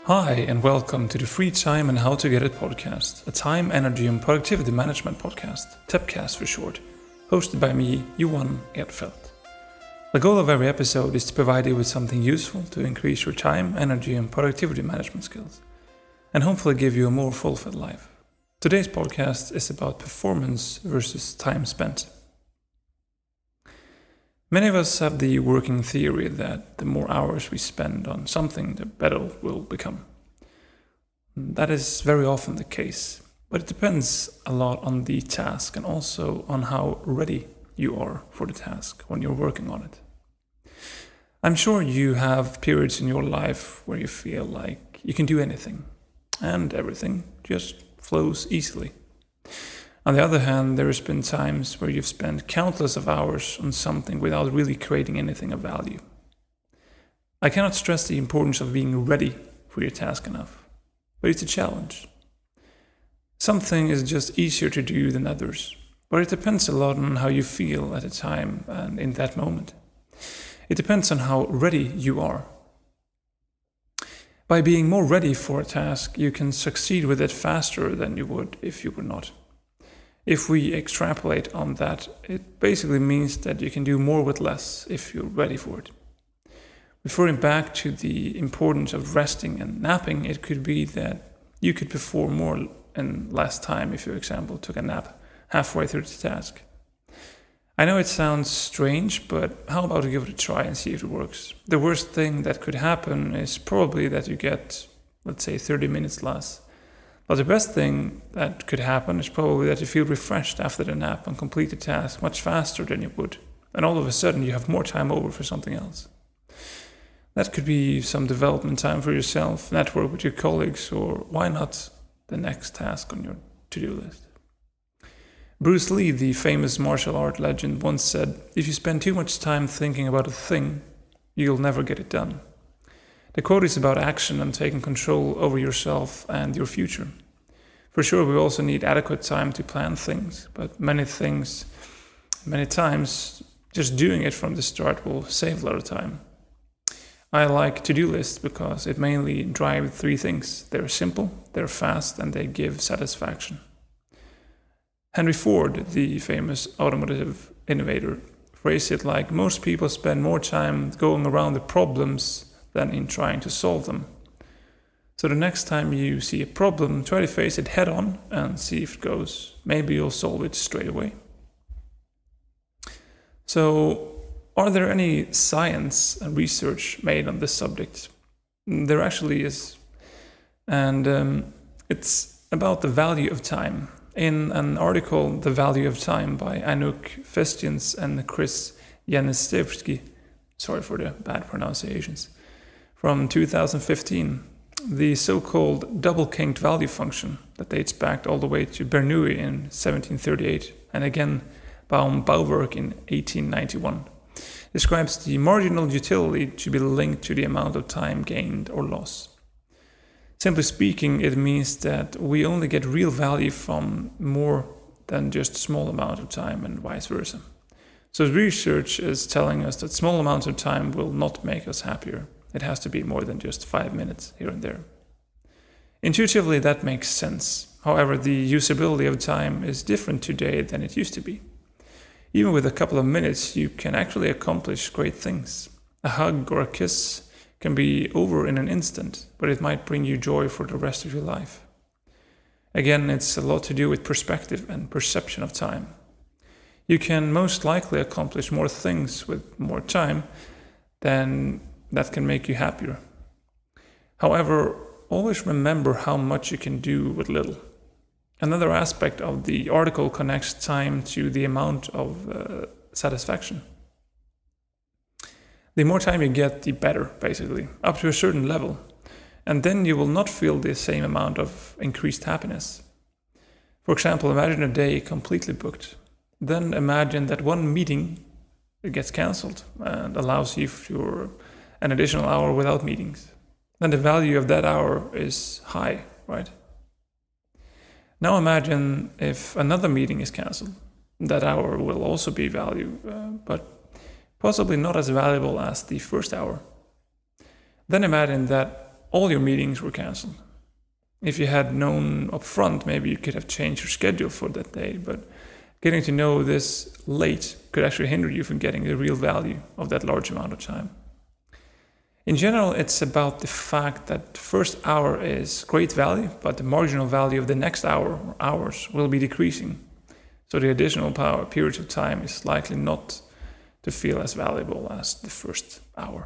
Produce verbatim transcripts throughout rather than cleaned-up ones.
Hi, and welcome to the Free Time and How to Get It podcast, a time, energy, and productivity management podcast, TEPcast for short, hosted by me, Johan Erdfeldt. The goal of every episode is to provide you with something useful to increase your time, energy, and productivity management skills, and hopefully give you a more fulfilled life. Today's podcast is about performance versus time spent. Many of us have the working theory that the more hours we spend on something, the better it will become. That is very often the case, but it depends a lot on the task and also on how ready you are for the task when you're working on it. I'm sure you have periods in your life where you feel like you can do anything, and everything just flows easily. On the other hand, there has been times where you've spent countless of hours on something without really creating anything of value. I cannot stress the importance of being ready for your task enough, but it's a challenge. Something is just easier to do than others, but it depends a lot on how you feel at a time and in that moment. It depends on how ready you are. By being more ready for a task, you can succeed with it faster than you would if you were not. If we extrapolate on that, it basically means that you can do more with less if you're ready for it. Referring back to the importance of resting and napping, it could be that you could perform more in less time if you, for example, took a nap halfway through the task. I know it sounds strange, but how about you give it a try and see if it works? The worst thing that could happen is probably that you get, let's say, thirty minutes less. But the best thing that could happen is probably that you feel refreshed after the nap and complete the task much faster than you would. And all of a sudden you have more time over for something else. That could be some development time for yourself, network with your colleagues, or why not the next task on your to-do list. Bruce Lee, the famous martial art legend, once said, "If you spend too much time thinking about a thing, you'll never get it done." The quote is about action and taking control over yourself and your future. For sure, we also need adequate time to plan things, but many things, many times, just doing it from the start will save a lot of time. I like to-do lists because it mainly drives three things. They're simple, they're fast, and they give satisfaction. Henry Ford, the famous automotive innovator, phrased it like, "Most people spend more time going around the problems than in trying to solve them." So the next time you see a problem, try to face it head on and see if it goes. Maybe you'll solve it straight away. So, are there any science and research made on this subject? There actually is. And um, it's about the value of time. In an article, The Value of Time by Anouk Festians and Chris Janicevsky, sorry for the bad pronunciations, from two thousand fifteen, the so-called double-kinked value function that dates back all the way to Bernoulli in seventeen thirty-eight and again Baum-Bauwerk in eighteen ninety-one, describes the marginal utility to be linked to the amount of time gained or lost. Simply speaking, it means that we only get real value from more than just a small amount of time and vice versa. So research is telling us that small amounts of time will not make us happier. It has to be more than just five minutes here and there. Intuitively, that makes sense. However, the usability of time is different today than it used to be. Even with a couple of minutes, you can actually accomplish great things. A hug or a kiss can be over in an instant, but it might bring you joy for the rest of your life. Again, it's a lot to do with perspective and perception of time. You can most likely accomplish more things with more time than that can make you happier. However, always remember how much you can do with little. Another aspect of the article connects time to the amount of uh, satisfaction. The more time you get, the better, basically, up to a certain level. And then you will not feel the same amount of increased happiness. For example, imagine a day completely booked. Then imagine that one meeting gets cancelled and allows you for an additional hour without meetings. Then the value of that hour is high, right? Now imagine if another meeting is cancelled. That hour will also be value, uh, but possibly not as valuable as the first hour. Then imagine that all your meetings were cancelled. If you had known up front, maybe you could have changed your schedule for that day, but getting to know this late could actually hinder you from getting the real value of that large amount of time. In general, it's about the fact that the first hour is great value, but the marginal value of the next hour or hours will be decreasing. So the additional power periods of time is likely not to feel as valuable as the first hour.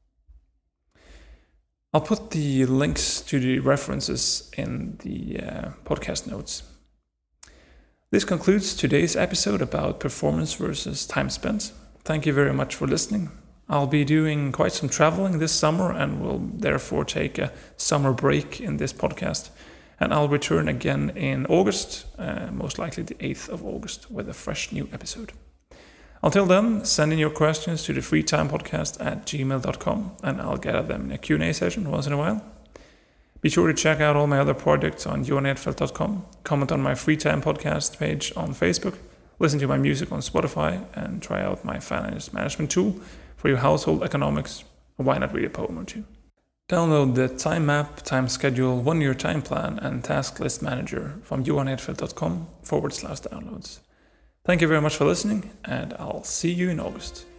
I'll put the links to the references in the uh, podcast notes. This concludes today's episode about performance versus time spent. Thank you very much for listening. I'll be doing quite some traveling this summer and will therefore take a summer break in this podcast. And I'll return again in August, uh, most likely the eighth of August, with a fresh new episode. Until then, send in your questions to the freetimepodcast at gmail dot com and I'll gather them in a Q and A session once in a while. Be sure to check out all my other projects on johan edfeldt dot com, comment on my Free Time Podcast page on Facebook, listen to my music on Spotify, and try out my finance management tool for your household economics, or why not read a poem or two. Download the Time Map, Time Schedule, One-Year Time Plan, and Task List Manager from johan edfeldt dot com forward slash downloads. Thank you very much for listening, and I'll see you in August.